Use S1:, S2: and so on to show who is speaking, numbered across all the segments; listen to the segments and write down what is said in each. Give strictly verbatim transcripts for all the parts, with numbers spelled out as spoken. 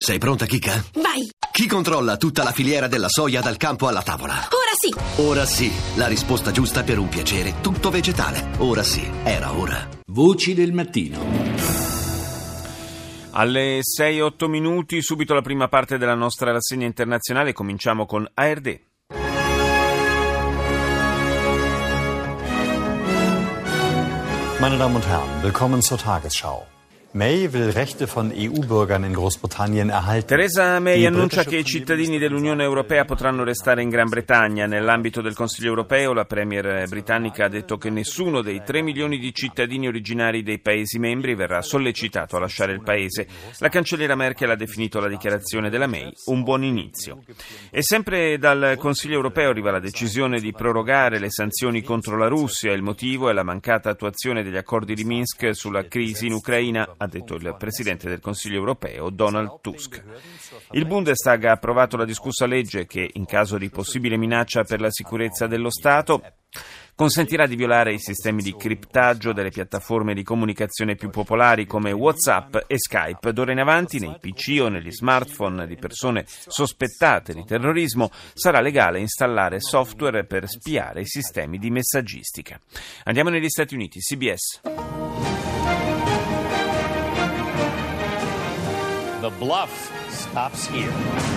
S1: Sei pronta, Kika?
S2: Vai!
S1: Chi controlla tutta la filiera della soia dal campo alla tavola?
S2: Ora sì!
S1: Ora sì, la risposta giusta per un piacere tutto vegetale. Ora sì, era ora.
S3: Voci del mattino.
S4: Alle sei e otto minuti, subito la prima parte della nostra rassegna internazionale. Cominciamo con A R D.
S5: Meine Damen und Herren, willkommen zur Tagesschau. May will Rechte von E U-Bürgern in Großbritannien erhalten.
S4: Theresa May annuncia che i cittadini dell'Unione Europea potranno restare in Gran Bretagna. Nell'ambito del Consiglio Europeo, la premier britannica ha detto che nessuno dei tre milioni di cittadini originari dei Paesi membri verrà sollecitato a lasciare il Paese. La cancelliera Merkel ha definito la dichiarazione della May un buon inizio. E sempre dal Consiglio Europeo arriva la decisione di prorogare le sanzioni contro la Russia. Il motivo è la mancata attuazione degli accordi di Minsk sulla crisi in Ucraina, ha detto il Presidente del Consiglio Europeo, Donald Tusk. Il Bundestag ha approvato la discussa legge che, in caso di possibile minaccia per la sicurezza dello Stato, consentirà di violare i sistemi di criptaggio delle piattaforme di comunicazione più popolari come WhatsApp e Skype. D'ora in avanti, nei P C o negli smartphone di persone sospettate di terrorismo, sarà legale installare software per spiare i sistemi di messaggistica. Andiamo negli Stati Uniti, C B S.
S6: The bluff stops here.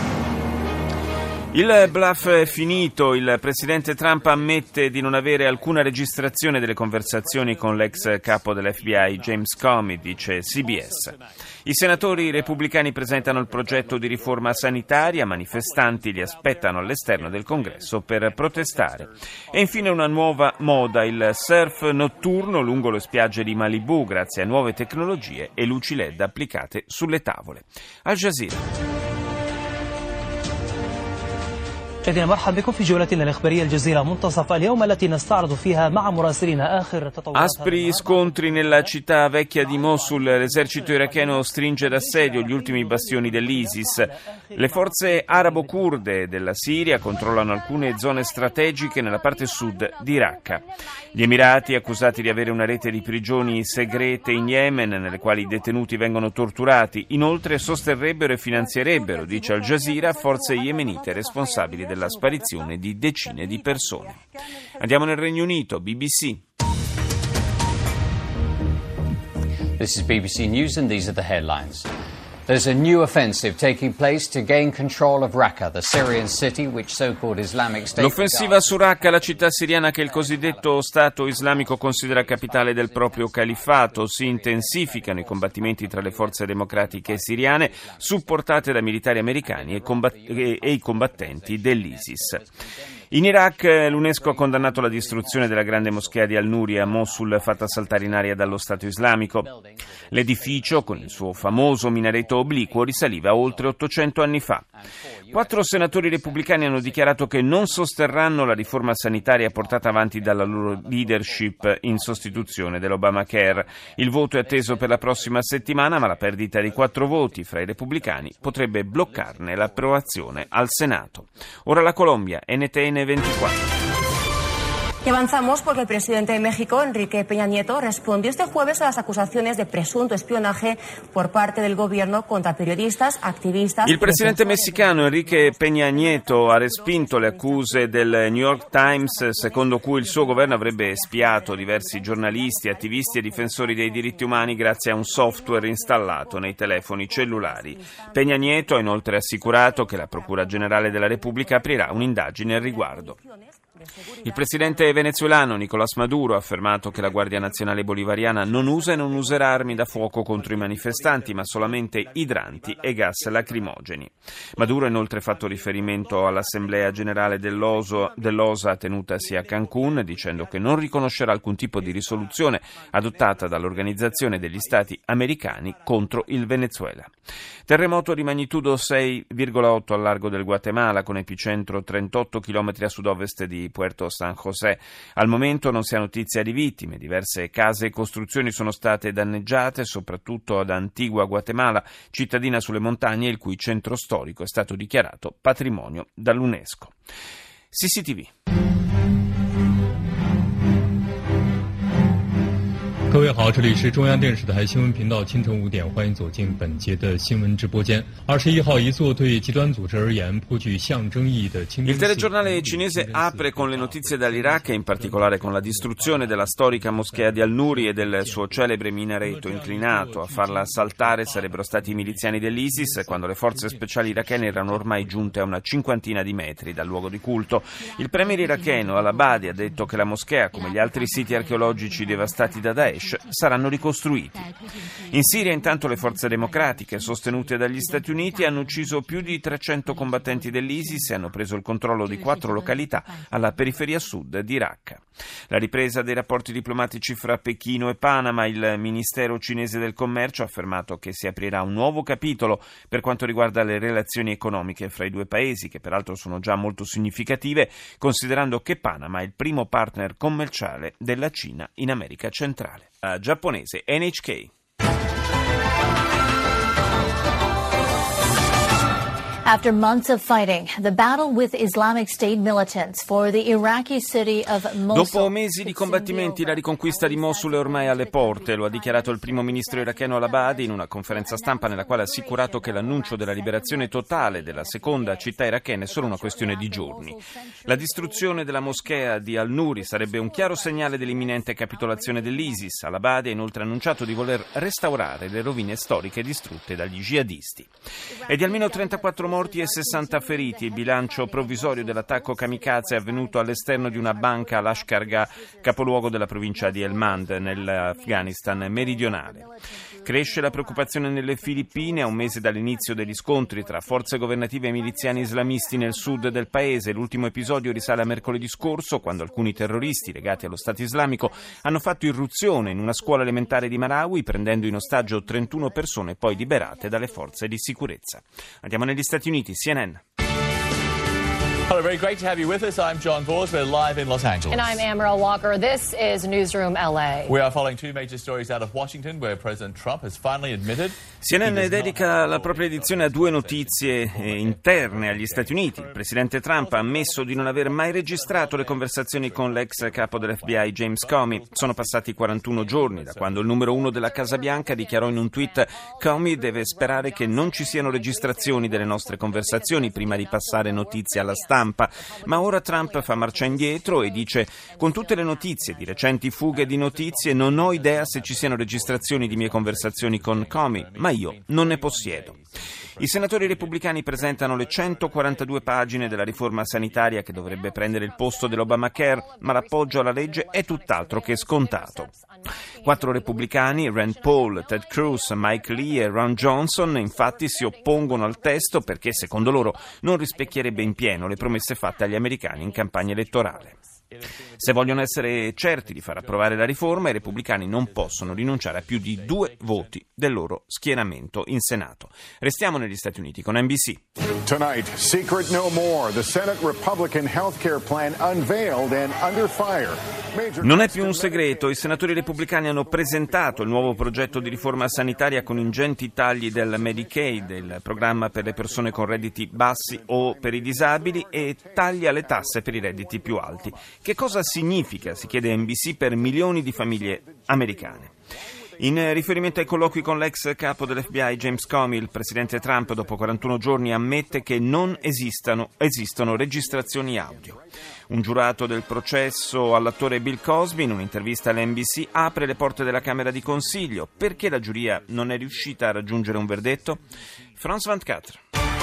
S4: Il bluff è finito. Il presidente Trump ammette di non avere alcuna registrazione delle conversazioni con l'ex capo dell'F B I James Comey, dice C B S. I senatori repubblicani presentano il progetto di riforma sanitaria, manifestanti li aspettano all'esterno del Congresso per protestare. E infine una nuova moda, il surf notturno lungo le spiagge di Malibu grazie a nuove tecnologie e luci L E D applicate sulle tavole. Al Jazeera.
S7: مشاهدينا مرحبا بكم في جولتنا الإخبارية الجزيرة منتصف اليوم التي نستعرض فيها مع مراسلنا آخر تطورات.
S4: Aspri scontri nella città vecchia di Mosul. L'esercito iracheno stringe d'assedio gli ultimi bastioni dell'ISIS. Le forze arabo-kurde della Siria controllano alcune zone strategiche nella parte sud di Raqqa. Gli Emirati, accusati di avere una rete di prigioni segrete in Yemen nelle quali i detenuti vengono torturati, inoltre sosterrebbero e finanzierebbero, dice Al Jazeera, forze yemenite responsabili della sparizione di decine di persone. Andiamo nel Regno Unito, B B C.
S6: This is B B C News and these are the headlines. There's a new offensive taking place to gain control of Raqqa, the Syrian city which so-called Islamic State.
S4: L'offensiva su Raqqa, la città siriana che il cosiddetto Stato islamico considera capitale del proprio califfato. Si intensificano i combattimenti tra le forze democratiche siriane, supportate da militari americani e, combatt- e, e i combattenti dell'ISIS. In Iraq l'UNESCO ha condannato la distruzione della grande moschea di Al-Nuri a Mosul, fatta saltare in aria dallo Stato islamico. L'edificio, con il suo famoso minareto obliquo, risaliva a oltre ottocento anni fa. Quattro senatori repubblicani hanno dichiarato che non sosterranno la riforma sanitaria portata avanti dalla loro leadership in sostituzione dell'Obamacare. Il voto è atteso per la prossima settimana, ma la perdita di quattro voti fra i repubblicani potrebbe bloccarne l'approvazione al Senato. Ora la Colombia, N T N ventiquattro.
S8: Y avanzamos porque el presidente de México, Enrique Peña Nieto, respondió este jueves a las acusaciones de presunto espionaje por parte del gobierno contra periodistas, activistas.
S4: Il presidente messicano Enrique Peña Nieto ha respinto le accuse del New York Times secondo cui il suo governo avrebbe spiato diversi giornalisti, attivisti e difensori dei diritti umani grazie a un software installato nei telefoni cellulari. Peña Nieto ha inoltre assicurato che la Procura Generale della Repubblica aprirà un'indagine al riguardo. Il presidente venezuelano Nicolás Maduro ha affermato che la Guardia Nazionale Bolivariana non usa e non userà armi da fuoco contro i manifestanti, ma solamente idranti e gas lacrimogeni. Maduro ha inoltre fatto riferimento all'Assemblea Generale dell'O S A tenutasi a Cancún, dicendo che non riconoscerà alcun tipo di risoluzione adottata dall'Organizzazione degli Stati Americani contro il Venezuela. Terremoto di magnitudo sei virgola otto al largo del Guatemala, con epicentro trentotto chilometri a sud-ovest di Puerto San José. Al momento non si ha notizia di vittime. Diverse case e costruzioni sono state danneggiate, soprattutto ad Antigua Guatemala, cittadina sulle montagne il cui centro storico è stato dichiarato patrimonio dall'UNESCO. C C T V.
S2: 各位好，这里是中央电视台新闻频道，清晨五点，欢迎走进本节的新闻直播间。二十一号，一座对极端组织而言颇具象征意义的清真寺。
S4: Il telegiornale cinese apre con le notizie dall'Iraq e in particolare con la distruzione della storica moschea di Al-Nuri e del suo celebre minareto inclinato. A farla saltare sarebbero stati i miliziani dell'ISIS quando le forze speciali irachene erano ormai giunte a una cinquantina di metri dal luogo di culto. Il premier iracheno Al-Abadi ha detto che la moschea, come gli altri siti archeologici devastati da Daesh, saranno ricostruiti. In Siria, intanto, le forze democratiche sostenute dagli Stati Uniti hanno ucciso più di trecento combattenti dell'ISIS e hanno preso il controllo di quattro località alla periferia sud di Raqqa. La ripresa dei rapporti diplomatici fra Pechino e Panama. Il Ministero cinese del Commercio ha affermato che si aprirà un nuovo capitolo per quanto riguarda le relazioni economiche fra i due paesi, che peraltro sono già molto significative, considerando che Panama è il primo partner commerciale della Cina in America centrale. La giapponese N H K.
S3: After months of fighting, the battle with Islamic State militants for the Iraqi city of Mosul.
S4: Dopo mesi di combattimenti, la riconquista di Mosul è ormai alle porte, lo ha dichiarato il primo ministro iracheno Al-Abadi in una conferenza stampa nella quale ha assicurato che l'annuncio della liberazione totale della seconda città irachena è solo una questione di giorni. La distruzione della moschea di Al-Nuri sarebbe un chiaro segnale dell'imminente capitolazione dell'ISIS. Al-Abadi ha inoltre annunciato di voler restaurare le rovine storiche distrutte dagli jihadisti. E di almeno trentaquattro morti e sessanta feriti. Il bilancio provvisorio dell'attacco kamikaze è avvenuto all'esterno di una banca a Lashkar-Gah, capoluogo della provincia di Helmand, nell'Afghanistan meridionale. Cresce la preoccupazione nelle Filippine a un mese dall'inizio degli scontri tra forze governative e miliziani islamisti nel sud del paese. L'ultimo episodio risale a mercoledì scorso, quando alcuni terroristi legati allo Stato islamico hanno fatto irruzione in una scuola elementare di Marawi, prendendo in ostaggio trentuno persone poi liberate dalle forze di sicurezza. Andiamo negli Stati Uniti, C N N.
S9: Hello, very great to have you with us. I'm John Vors. We're live in Los Angeles.
S10: And I'm Amaral Walker. This is Newsroom L A.
S9: We are following two major stories out of Washington, where President Trump has finally admitted.
S4: C N N dedica la propria edizione a due notizie interne agli Stati Uniti. Il presidente Trump ha ammesso di non aver mai registrato le conversazioni con l'ex capo dell'F B I James Comey. Sono passati quarantuno giorni da quando il numero uno della Casa Bianca dichiarò in un tweet: Comey deve sperare che non ci siano registrazioni delle nostre conversazioni prima di passare notizie alla stampa. Ma ora Trump fa marcia indietro e dice: con tutte le notizie di recenti fughe di notizie non ho idea se ci siano registrazioni di mie conversazioni con Comey, ma io non ne possiedo. I senatori repubblicani presentano le centoquarantadue pagine della riforma sanitaria che dovrebbe prendere il posto dell'Obamacare, ma l'appoggio alla legge è tutt'altro che scontato. Quattro repubblicani, Rand Paul, Ted Cruz, Mike Lee e Ron Johnson, infatti si oppongono al testo perché, secondo loro, non rispecchierebbe in pieno le promesse fatte agli americani in campagna elettorale. Se vogliono essere certi di far approvare la riforma, i repubblicani non possono rinunciare a più di due voti del loro schieramento in Senato. Restiamo negli Stati Uniti con N B C.
S11: Tonight, secret no more. The Senate Republican healthcare plan unveiled and under fire.
S4: Non è più un segreto, i senatori repubblicani hanno presentato il nuovo progetto di riforma sanitaria con ingenti tagli del Medicaid, il programma per le persone con redditi bassi o per i disabili, e tagli alle tasse per i redditi più alti. Che cosa significa, si chiede N B C, per milioni di famiglie americane? In riferimento ai colloqui con l'ex capo dell'F B I James Comey, il presidente Trump dopo quarantuno giorni ammette che non esistano, esistono registrazioni audio. Un giurato del processo all'attore Bill Cosby, in un'intervista all'N B C, apre le porte della Camera di Consiglio. Perché la giuria non è riuscita a raggiungere un verdetto? France ventiquattro.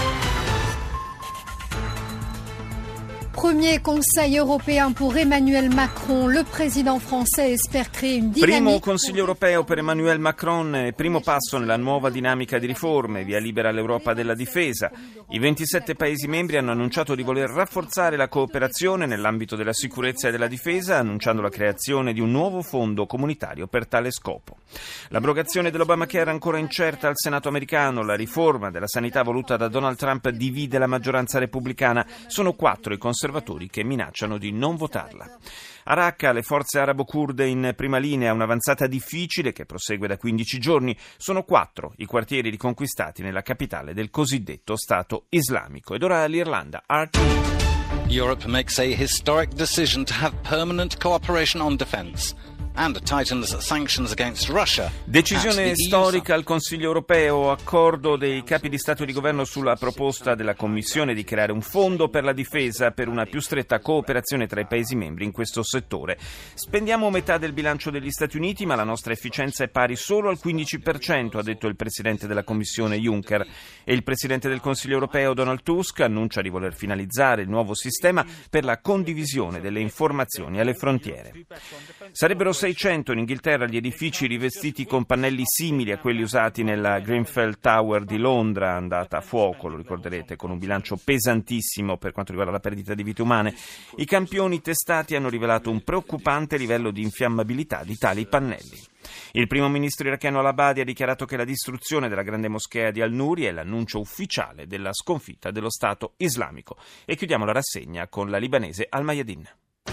S12: Premier Conseil européen pour Emmanuel Macron, le président français espère créer une dynamique.
S4: Primo Consiglio europeo per Emmanuel Macron, primo passo nella nuova dinamica di riforme, via libera all'Europa della difesa. I ventisette Paesi membri hanno annunciato di voler rafforzare la cooperazione nell'ambito della sicurezza e della difesa, annunciando la creazione di un nuovo fondo comunitario per tale scopo. L'abrogazione dell'Obamacare è ancora incerta al Senato americano. La riforma della sanità voluta da Donald Trump divide la maggioranza repubblicana. Sono quattro i conservatori che minacciano di non votarla. A Raqqa le forze arabo-kurde in prima linea, un'avanzata difficile che prosegue da quindici giorni. Sono quattro i quartieri riconquistati nella capitale del cosiddetto Stato islamico. Ed ora l'Irlanda. R T
S13: Europe makes a historic decision to have permanent cooperation on defence. and tightens sanctions against Russia.
S4: Decisione storica al Consiglio europeo, accordo dei capi di Stato e di Governo sulla proposta della Commissione di creare un fondo per la difesa per una più stretta cooperazione tra i Paesi membri in questo settore. Spendiamo metà del bilancio degli Stati Uniti, ma la nostra efficienza è pari solo al quindici per cento, ha detto il Presidente della Commissione Juncker. E il Presidente del Consiglio europeo Donald Tusk annuncia di voler finalizzare il nuovo sistema per la condivisione delle informazioni alle frontiere. Sarebbero seicento in Inghilterra gli edifici rivestiti con pannelli simili a quelli usati nella Grenfell Tower di Londra, andata a fuoco, lo ricorderete, con un bilancio pesantissimo per quanto riguarda la perdita di vite umane. I campioni testati hanno rivelato un preoccupante livello di infiammabilità di tali pannelli. Il primo ministro iracheno al-Abadi ha dichiarato che la distruzione della grande moschea di Al-Nuri è l'annuncio ufficiale della sconfitta dello Stato islamico. E chiudiamo la rassegna con la libanese Al-Mayadin.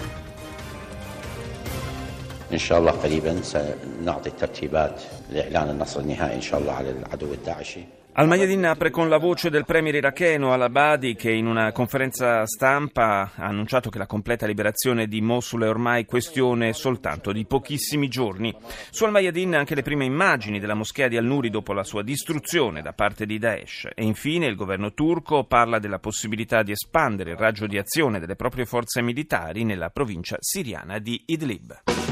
S14: إن شاء الله قريبا سنعطي الترتيبات لإعلان النصر النهائي إن شاء الله على العدو الداعشي.
S4: Al-Mayadin apre con la voce del premier iracheno Al-Abadi, che in una conferenza stampa ha annunciato che la completa liberazione di Mosul è ormai questione soltanto di pochissimi giorni. Su Al-Mayadin anche le prime immagini della moschea di Al-Nuri dopo la sua distruzione da parte di Daesh. E infine il governo turco parla della possibilità di espandere il raggio di azione delle proprie forze militari nella provincia siriana di Idlib.